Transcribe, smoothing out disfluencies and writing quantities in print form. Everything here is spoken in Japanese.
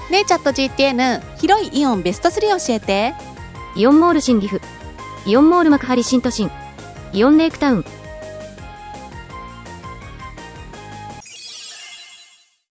ねえチャット GTN、 広いイオンベスト3教えて。 イオンモール新岐阜、イオンモール幕張新都心、イオンレイクタウン、